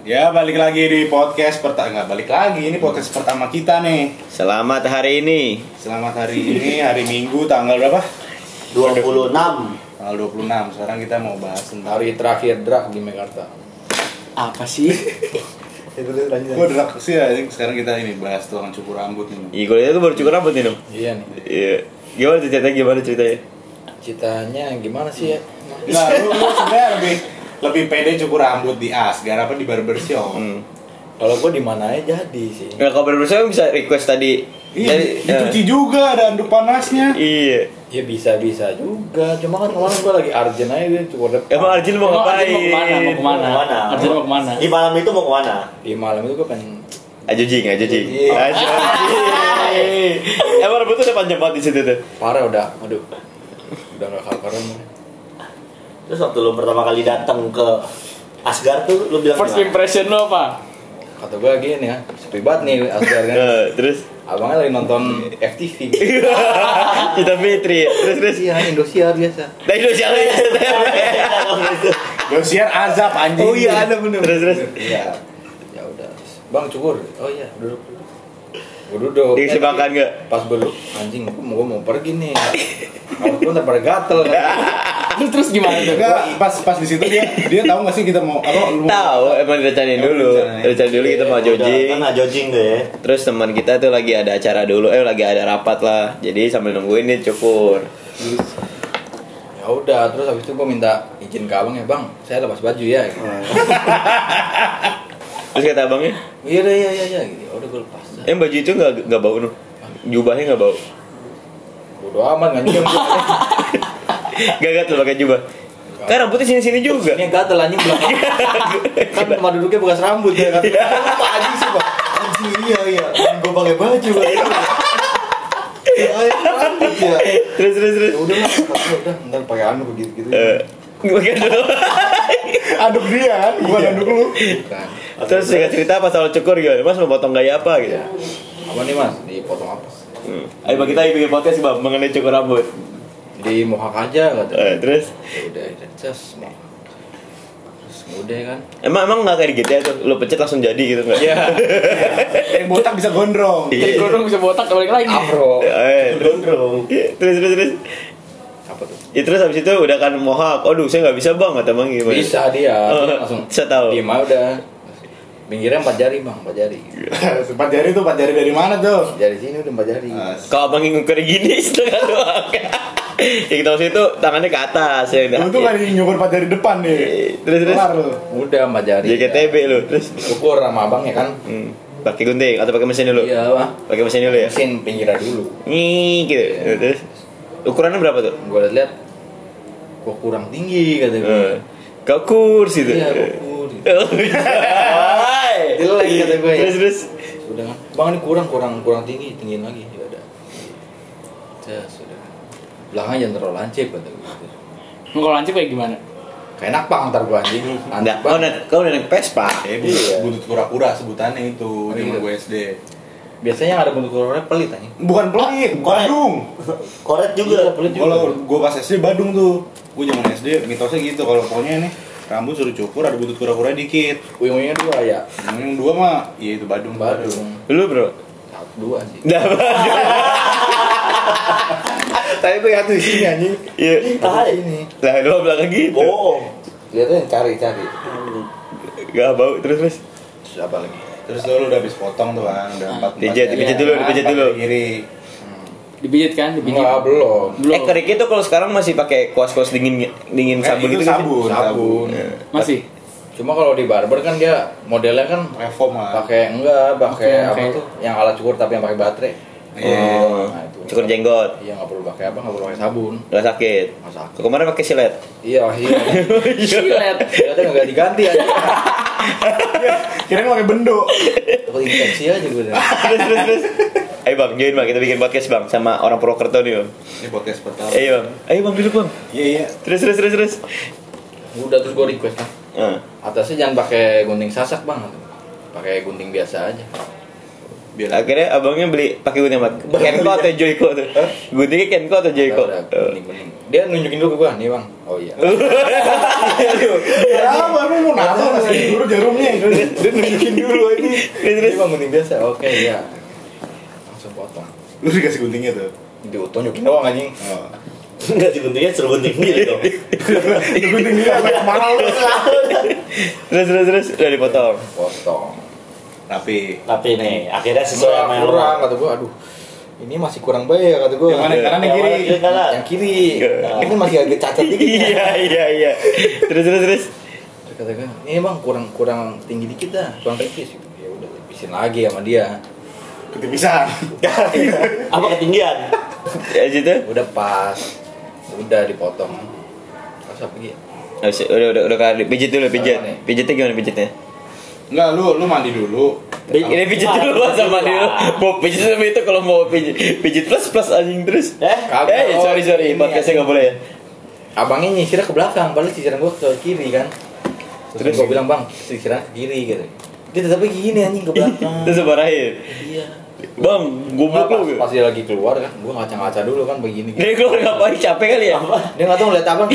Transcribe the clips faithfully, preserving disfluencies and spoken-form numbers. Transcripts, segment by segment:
Ya balik lagi di podcast pertama, nggak balik lagi, ini podcast pertama kita nih. Selamat hari ini. Selamat hari ini, hari Minggu tanggal berapa? dua puluh enam. Tanggal dua puluh enam. Sekarang kita mau bahas tentang Hari terakhir drag di Mekarta. Apa sih? Gue drag sih ya, sekarang kita ini bahas tukang cukur rambut ini. Iya, gue itu baru cukur rambut nih, Nom. Iya nih. Iya. Gimana ceritanya? Gimana ceritanya? Ceritanya gimana sih ya? Nah, lu, lu sebenarnya lebih lebih pede cukur rambut di Asgar apa di barbershop? Hmm. Kalau gue di mana aja jadi sih. Nggak, kalau barbershop bisa request tadi. Iya, Dari, dicuci juga ada anduk panasnya. Iya. Ya bisa-bisa juga. Cuma kan kemarin gue lagi urgent aja dia cukur depan. Emang Arjun mau Emang ngapain? Arjun mau kemana? Mau kemana? Mau kemana? Arjun mau kemana? Di malam itu mau kemana? Di malam itu gue pengen Ajo jing, ajo jing. Iya. Ajo jing. Emang rambut tuh udah panjang banget di situ tuh. parah udah. Aduh. Udah gak kabaran. Terus waktu lu pertama kali datang ke Asgar tuh lu bilang First gimana? impression lo apa? Kata gue gini ya, sepi banget nih Asgar kan. Nah, terus Abangnya lagi nonton F T V. kita Fitri. Terus terus. Iya, Indosiar biasa. Nah, itu siapa ya? Dosiar azab anjing. Oh iya, ada bener. Terus terus. Iya. Ya udah. Bang cukur. Oh iya, duduk. Gue duduk. Dikasih makan nggak? Pas gue duduk, anjing, gue mau, mau pergi nih. Kalau gue ntar pada gatel kan. Terus terus gimana tuh? Enggak, pas pas di situ dia dia tahu nggak sih kita mau apa? Lu mau- Tahu, emang direncanain Emang dulu. direncanain. Rencanain dulu kita mau Udah, jogging. kan jojing tuh ya. Terus teman kita tuh lagi ada acara dulu, eh lagi ada rapat lah. Jadi sambil nungguin nih cukur. Ya udah, terus habis itu gue minta izin ke abang ya, Bang, saya lepas baju ya. Terus kata abangnya, Iya deh, iya iya iya gitu. Ya udah gue lepas. eh baju itu nggak nggak bau nuh, jubahnya nggak bau. Bodo amat nggak nyium. Gak gatel pakai jubah. Kan rambutnya sini sini juga. Ini gatel anjing belakang. Kan tempat duduknya bekas rambut ya kan. Apa anjing sih, Pak? Anjing iya iya. Gue pakai baju kan. Ya, rambut ya. Terus terus terus. Ya udah lah, ya udah, ntar pakai anu begitu gitu. Eh, pakai dulu. Anduk dia kan, bukan anduk lu. Bukan. Terus singkat cerita pas awal cukur gimana? Mas mau potong gaya apa gitu? Ya. Apa nih Mas? Dipotong apa? Hmm. Ayo bang, kita bikin podcast bang mengenai cukur rambut. Di mohak aja katanya. Eh, terus Ya udah, udah, terus mohak. Terus udah kan. emang emang nggak kayak gitu ya tuh? Lu pencet langsung jadi gitu nggak? Ya. Yang botak bisa gondrong. Jadi gondrong bisa botak balik lagi. Afro. Eh, Gondrong. terus terus terus. Apa tuh? Ya terus habis itu udah kan mohak. Aduh saya nggak bisa bang kata bang gimana? Bisa dia. Oh, Dia langsung. bisa tahu. Diem aja udah. Pinggirnya empat jari bang, empat jari. Empat jari tuh, empat jari dari mana tuh? Dari sini udah empat jari. Nah, Kalau abang ngukur gini setengah doang. Ya kita maksud itu tangannya ke atas ya. Lu tuh kan nyukur empat jari depan nih. Terus terus. Kelar lu. Udah empat jari. J K T B lu terus. Syukur sama abang ya kan. Hmm. Pakai gunting atau pakai mesin dulu? Iya bang. Pakai mesin dulu ya. Mesin pinggirnya dulu. Nih gitu. Terus ukurannya berapa tuh? Gue liat, kok kurang tinggi kata gue. Eh, Kau kurs itu. Iya, kok kurang. Oh, hai. Jelek kata gue ya. Terus terus. Udah kan, bang ini kurang kurang kurang tinggi, tinggiin lagi ya udah. Ya sudah. Belakangnya jangan terlalu lancip kata gue. Mau kalau lancip kayak gimana? Kayak enak bang ntar gue anjing. Anda, Anak kau bang. naik kau naik Vespa. Eh, Iya. buntut, buntut kura-kura sebutannya itu Oh, zaman iya. gue S D. Biasanya yang ada bentuk kurangnya pelit anjing. Bukan pelit, Badung. Koret Iya, juga. pelit juga. Kalau gue pas S D Badung tuh, gue zaman S D mitosnya gitu. Kalau pokoknya nih rambut suruh cukur ada buntut kura-kura dikit. Uyung-uyungnya dua ya. Yang dua mah, iya itu Badung. Badung. Lu bro. Satu dua sih. Dah. Tapi gue satu di sini anjing. Iya. Tai. Ini. Lah dua belakang gitu. Bohong. Lihatnya cari-cari. Gak bau terus terus. Terus apa lagi? Terus tuh lu udah habis potong tuh kan, udah empat Pijat, jari. dipijat dulu, dipijat Empat dulu. jari kiri. Dipijit kan? Dipijit. Enggak, belum. Belum. Eh kerik itu kalau sekarang masih pakai kuas-kuas dingin dingin Eh, sabun itu gitu kan? sabun, Sabun. Masih. Cuma kalau di barber kan dia modelnya kan Reform lah. pakai enggak, pakai Oke, apa oke. tuh? Yang alat cukur tapi yang pakai baterai. Oh, Nah, itu. cukur jenggot. Iya, nggak perlu pakai apa, nggak perlu pakai sabun. Gak sakit. Nggak sakit. Kok kemarin pakai silet. Iya, iya. Silet. Ternyata nggak diganti aja. Kirain pakai bendo. Takut infeksi aja gue. Terus terus terus. Ayo bang, join bang, kita bikin podcast bang sama orang Purwokerto nih bang. Ini podcast pertama. Ayo bang, ayo bang duduk bang. Iya iya. Terus terus terus terus. Udah terus gue request kan. Ah. Atasnya jangan pakai gunting sasak bang, pakai gunting biasa aja. Biar Akhirnya abangnya beli pakai gunting apa? Kenko atau Joyko tuh? Guntingnya Kenko atau Joyko? Udah, udah, gunting, gunting. Dia nunjukin dulu ke gua, nih bang. Oh iya. Ya, baru mau nabok nggak sih? dulu jarumnya. Dia nunjukin dulu ini. Ini bang gunting biasa. Oke ya. Langsung potong. Lu dikasih guntingnya tuh. Ditunjukin doang anjing. Oh. Enggak sih guntingnya suruh gunting sendiri dong. Lu gunting dia sampai kemana lu? Terus terus terus udah dipotong. Potong. Rapi. Tapi nih, akhirnya sesuai sama yang lo kurang mau. kata gua. Aduh. Ini masih kurang baik kata gua. Yang mana? Kanan yang kiri? Yang kanan. Yang kiri. Ini masih agak cacat dikit. Iya iya iya. Terus terus terus. Terus kata gua, ini bang kurang kurang tinggi dikit dah, kurang tipis. Ya udah tipisin lagi sama dia. Ketipisan. Apa ketinggian? Ya gitu. Udah pas. Udah dipotong. Terus apa lagi? Oh, si- udah udah udah kan pijit dulu pijit. Apa nih? Pijitnya gimana pijitnya? Enggak, lu lu mandi dulu. Ini pijit dulu Mas, sama dia. Mau pijit sama itu kalau mau pijit pijit plus plus anjing terus. Eh? Kagak. Eh sorry sorry Ini podcastnya nggak boleh ya. Abangnya nyisirnya ke belakang, padahal sisiran gua ke kiri kan. Terus, Terus? gua bilang, "Bang, sisiran ke kiri." gitu. Dia tetapnya gini anjing ke belakang. Terus marahin. Iya. Bang, goblok Pas, lu. pas dia lagi keluar kan, gua ngaca-ngaca dulu kan begini gitu. Dia keluar ngapain? Capek kali ya? Dia enggak tahu ngeliat abang.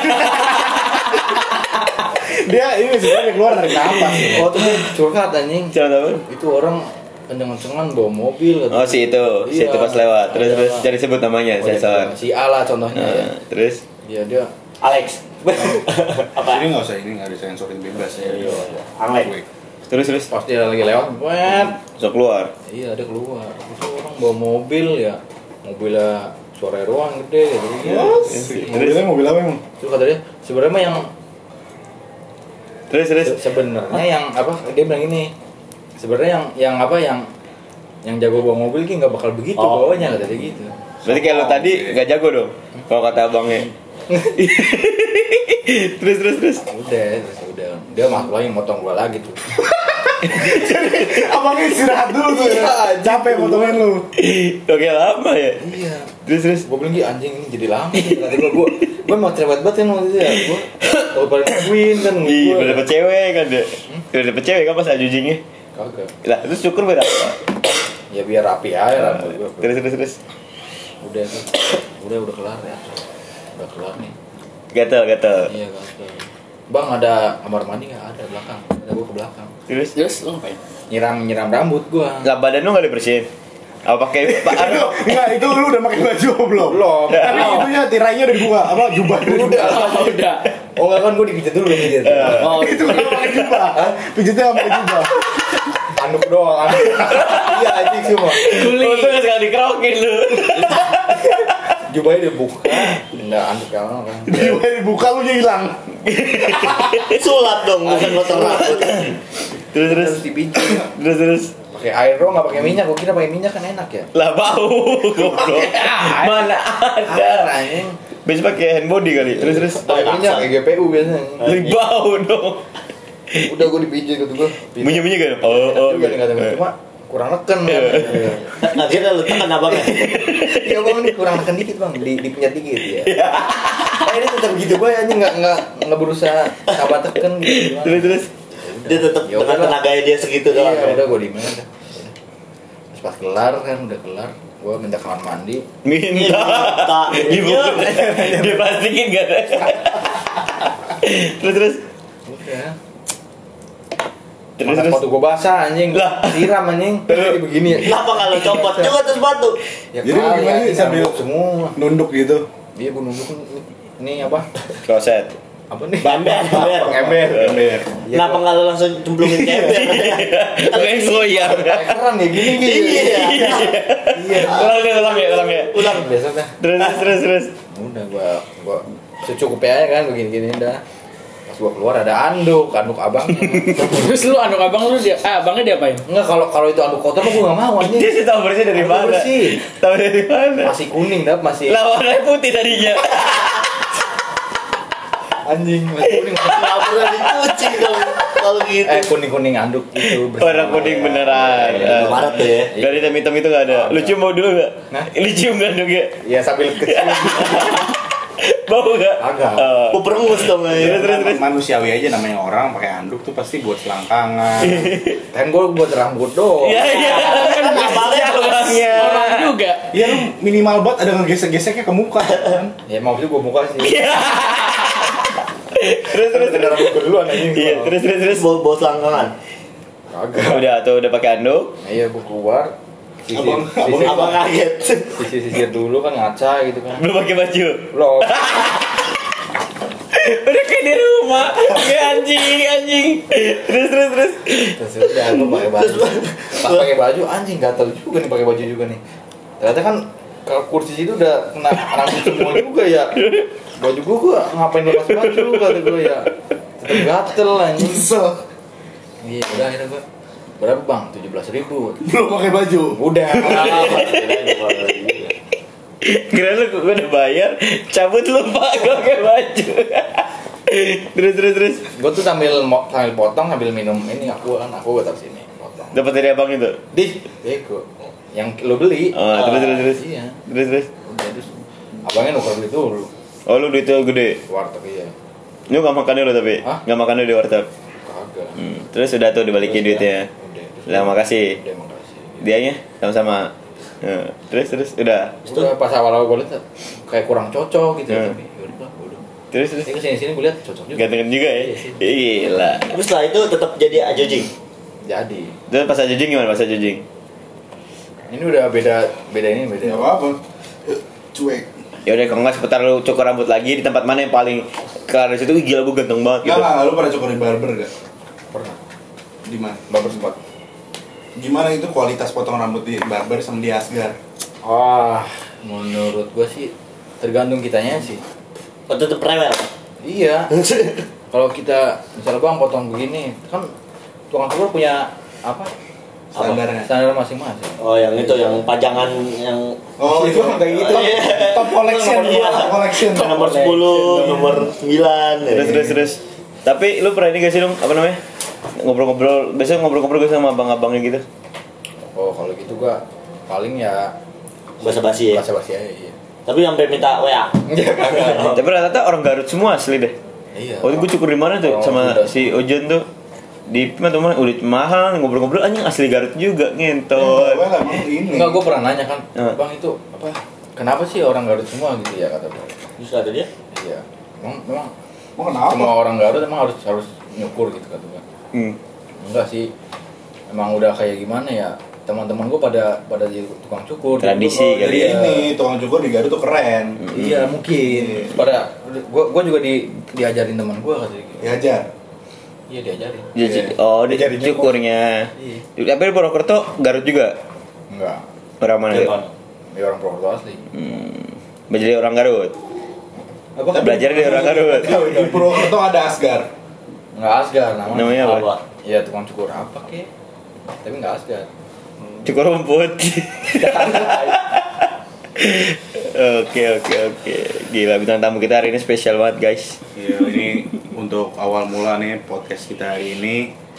Dia ini sebenarnya keluar dari napas. Oh, tuh dia curhat anjing. Jangan apa? Itu orang kenceng-kencengan bawa mobil gitu. Oh si itu, si itu pas lewat. Terus Ada terus apa? jadi sebut namanya Oh, dia sensor. bilang, si A lah contohnya ya. Nah, terus Iya dia Alex. Apa? Ini nggak usah ini nggak disensorin bebas ya. Iya. Alex. terus terus pas dia lagi lewat, wet. so keluar. Iya dia keluar. Itu orang bawa mobil ya. Mobilnya suara ruang gede gitu. Iya. Mobilnya mobil apa emang? Terus kata dia, sebenarnya mah yang Terus terus. se- sebenarnya yang apa? Dia bilang ini. Sebenarnya yang yang apa yang yang jago bawa mobil ki nggak bakal begitu Oh. bawanya kata dia gitu. Berarti kayak lo tadi nggak jago dong. Kalau kata abangnya. terus terus terus. Udah, terus udah. Dia masuk lagi motong gua lagi tuh. Abangnya istirahat dulu tuh ya. Iya, Capek motongin lu. Oke lama ya. Iya. Terus terus. Gue bilang, "Gi, anjing ini jadi lama sih." Kata gue, gue gue mau cerewet banget kan waktu itu ya. Gue kalau pada nungguin kan Ih, gue. udah dapet cewek kan dia. Udah dapet cewek kan pas ajujingnya. Kagak. Lah, terus syukur berapa? Ya biar rapi aja rambut gue. Terus terus terus. Udah tuh. Udah udah kelar ya. Udah kelar nih. Gatel gatel. Iya kan. Bang ada kamar mandi nggak? Ada belakang. Ada gue ke belakang. Terus Terus lu ngapain? Nyiram nyiram rambut gue. lah badan lu nggak dibersihin? Apa pakai pak? Itu enggak itu lu udah pakai baju belum? Belum. Tapi itunya tirainya udah dibuka, apa jubah udah dibuka. Oh, udah. Oh enggak kan gue dipijat dulu pijat. Oh, Itu kan pakai jubah. Pijitnya nggak pakai jubah. Anduk doang. Anduk. Iya anjing semua. Kuli. Lu tuh nggak sekali dikerokin lu. Jubahnya dibuka. Enggak anduk yang kan. Jubah dibuka lu nya hilang. Sulap dong, bukan potong rambut. Terus terus Terus dipijat. terus terus. Pakai air doang nggak pakai minyak. Gue kira pakai minyak kan enak ya. Lah bau goblok. Mana Air ada. anjing. Biasa pakai hand body kali. Terus terus. Pakai minyak kayak G P U biasanya. Lebih bau dong. Udah gue dipijat gitu gue. Bunyi-bunyi kan? Oh oh. Juga nih kata-kata cuma kurang neken kan. Akhirnya lu tekan abangnya. Iya bang ini kurang neken dikit bang, di dipijat dikit ya. Nah, ini tetap gitu gue aja nggak nggak nggak berusaha sabar teken gitu. Terus terus. Dia tetap Ya dengan udah. tenaganya dia segitu doang. Iya ya. udah gue diemin aja. Terus pas kelar kan udah kelar, gue minta kamar mandi. Minta. Minta. Dibungkus. Diplastikin gak ada. Terus terus. Udah. Terus Masa terus. sepatu gue basah anjing, Lah. siram anjing, jadi begini ya. Kenapa kalau copot juga tuh sepatu? Ya Jadi kali, gimana anjing, sambil- nyambuk semua. Nunduk gitu. Iya gue nunduk ini apa? Kloset. Apa nih? Ember, ember. Ember. Ember. Kenapa nggak lu langsung cemplungin ke ember? Kayak goyang. Kayak keran ya gini gitu. Iya. Iya. Ulang ya, ulang ya, ulang ya. Ulang biasa dah. Terus terus terus terus. Udah gua gua secukupnya aja kan begini-gini dah. Pas gua keluar ada anduk, anduk abang. Terus lu anduk abang lu dia, ah abangnya diapain? Enggak kalau kalau itu anduk kotor mah gua enggak mau anjing. Dia sih tahu bersih dari Tahu mana? bersih. Tahu dari mana? Masih kuning dah, masih Lah warnanya putih tadinya. anjing, masih kuning. Nggak pernah dicuci dong kalau gitu. Eh kuning-kuning anduk itu bersih. Warna kuning beneran. Iya, Maret tuh ya. Gak ada hitam-hitam itu gak ada. Lu cium mau dulu gak? Nah. Lu cium gak dong ya? Iya sambil kecil. Bau gak? Agak. Oh. Gua perengus dong Terus ya. terus terus. Manusiawi aja namanya orang pakai anduk tuh pasti buat selangkangan. Kan gua buat rambut doang. Iya iya. Kan Abangnya abangnya. orang juga. Ya lu minimal banget ada ngegesek-geseknya ke muka kan. Ya mau itu gua muka sih. Terus terus Ada rambut gue duluan anjing. Iya, terus terus terus. Bawa bawa selangkangan. Kagak. Udah tuh udah pakai anduk. Nah, iya gue keluar. Sisir, Abang- sisir, Abang abang kaget. sisir dulu kan ngaca gitu kan. Belum pakai baju. Belum. Udah kayak di rumah. Kayak anjing, anjing. Terus terus terus. Terus udah gue pakai baju. Pas pakai baju anjing gatel juga nih pakai baju juga nih. Ternyata kan kalau kursi situ udah kena rambut semua juga ya. Baju gue gue ngapain lepas baju kata gue ya. Tetep gatel anjing. Iya udah akhirnya gue berapa bang? tujuh belas ribu. Belum pakai baju. Udah. Kira lu gue udah bayar, cabut lu pak, gue pakai baju. Terus terus terus. Gue tuh sambil mo- sambil potong sambil minum ini aku kan aku gue taruh sini potong. Dapat dari abang itu. Di, bego. Yang lo beli. Oh, terus terus terus. Iya. Terus terus. Udah terus. Abangnya nuker duit dulu. Oh lu duitnya gede. Warteg iya. Lu gak makan dulu tapi? Hah? Gak makan dulu di warteg. Kagak. Hmm. Terus udah tuh dibalikin Terus duitnya. Udah. Terus Lah makasih. Udah makasih. Dianya sama-sama. Nah, terus terus udah. Udah pas awal-awal gue liat kayak kurang cocok gitu ya. Hmm. Tapi yaudah udah. Terus terus. Ini kesini sini gue liat cocok juga. Gantengan juga ya. Gila. Terus setelah itu tetap jadi ajojing. Jadi Terus pas aja jing gimana pas aja jing? ini udah beda beda ini beda. Ya apa? Cuek. Ya udah kalau nggak sebentar lu cukur rambut lagi di tempat mana yang paling kelar di situ. Ih, gila gue ganteng banget Enggak gitu. lah, lu pada cukur di barber gak? Pernah. Di mana? Barber spot. Gimana itu kualitas potong rambut di barber sama di Asgar? Wah, menurut gue sih tergantung kitanya sih. Oh, tetap rewel. Iya. Kalau kita misalnya bang potong begini, kan tukang cukur punya apa? Standarnya. Standar masing-masing. Oh, yang itu yang pajangan yang Oh, itu kayak gitu. Iya. Top collection, Iya. top collection. nomor sepuluh, nomor sembilan. Terus terus terus. Tapi lu pernah ini gak sih dong apa namanya? Ngobrol-ngobrol, biasanya ngobrol-ngobrol gue sama abang-abangnya gitu. Oh, kalau gitu gua paling ya Basa-basi ya. basa-basi aja iya. Tapi sampai minta W A. Iya kagak. Tapi rata-rata orang Garut semua asli deh. Iya. Waktu gue cukur di mana tuh Orang sama Sunda. si Ojan tuh di mana teman udah mahal ngobrol-ngobrol anjing asli Garut juga ngentot. Well, emang ini. Enggak, gua pernah nanya kan, Eh. bang itu apa? Kenapa sih orang Garut semua gitu ya kata gua. Terus kata dia, Iya. Emang memang Mau kenapa? semua orang Garut emang harus harus nyukur gitu kata gua. Hmm. Enggak sih. Emang udah kayak gimana ya? Teman-teman gua pada pada jadi tukang cukur. Tradisi Jadi kali Jadi ya. ini tukang cukur di Garut tuh keren. Iya mungkin. Pada gua gua juga di diajarin teman gua katanya gitu. Diajar. Iya diajarin. Jadi Iya. oh di Jadi cukurnya. Iya. Tapi di Purwokerto Garut juga. Enggak. Orang mana? Iya, ya? Bang. Ya orang Purwokerto asli. Hmm. Jadi orang Garut. Apa? Belajar dari orang Garut. Di Purwokerto ada Asgar. Enggak Asgar namanya. Namanya apa? apa? Iya tukang cukur apa kek? Tapi enggak Asgar. Cukur rumput. Oke oke oke. Gila bintang tamu kita hari ini spesial banget guys. Iya, ini untuk awal mula nih podcast kita hari ini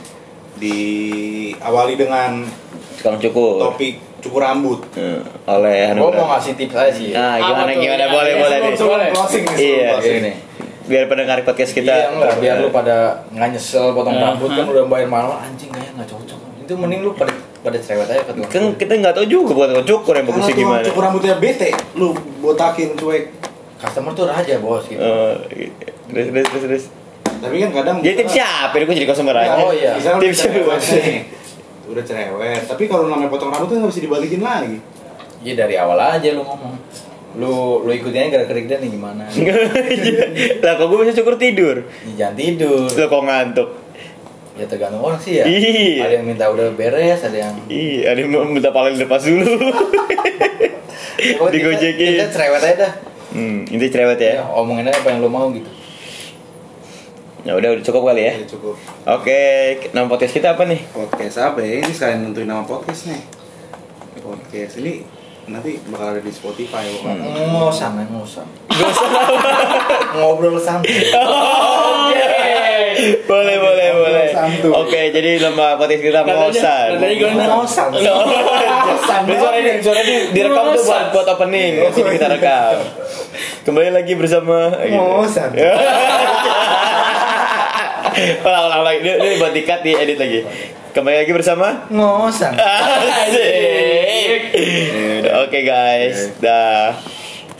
diawali dengan Tukang cukur. topik cukur rambut. Hmm, oleh Gua mau Anugrah. ngasih tips aja sih. Nah, Apa gimana tuh? gimana Iya, boleh iya, boleh sebelum- nih. sebelum Boleh. Closing nih, Iya. closing. Ini. Biar pendengar podcast kita. Iya enggak, biar lu pada nggak nyesel potong Uh-huh. rambut kan udah bayar mahal anjing kayaknya nggak cocok. Itu mending lu pada pada cerewet aja ke tukang Kan cukur. kita nggak tahu juga bukan tukang cukur yang Kalau bagusnya tukang gimana. cukur rambutnya bete, lu botakin cuek. Customer tuh raja bos gitu. Oh, terus terus terus terus. Tapi kan kadang Jadi tipsnya apa? Gue jadi customer aja. Oh, iya. Misalnya udah Tipsnya cerewet gimana? nih. Udah cerewet, tapi kalau namanya potong rambut tuh nggak bisa dibalikin lagi. Iya dari awal aja lu ngomong. Lu lu ikutin aja gerak-gerik dia nih gimana. Lah kok gue bisa cukur tidur? Ya, jangan tidur. Lah kok ngantuk? Ya tergantung orang sih ya. Iya. Ada yang minta udah beres, ada yang Iya, ada yang mau minta paling lepas dulu. Pokoknya Digojekin. Kita, kita cerewet aja dah. Hmm, itu cerewet Ya, ya. omongin aja apa yang lu mau gitu. Ya udah udah cukup kali ya. Ya cukup. Oke, nama podcast kita apa nih? Podcast apa ya? Ini sekalian nentuin nama podcast nih. Podcast ini nanti bakal ada di Spotify bukan? Ngosan, ngosan. Ngobrol santai. Boleh, boleh, boleh. Santuy. Oke, jadi nama podcast kita ngosan. Nadanya gimana? Ngosan. Ngosan. Suara ini, suara ini direkam tuh buat buat opening. Jadi kita rekam. Kembali lagi bersama Ngosan. Ulang, ulang lagi. Ini, ini buat dikat di edit lagi. Kembali lagi bersama Ngosan. Asik. Oke guys, dah.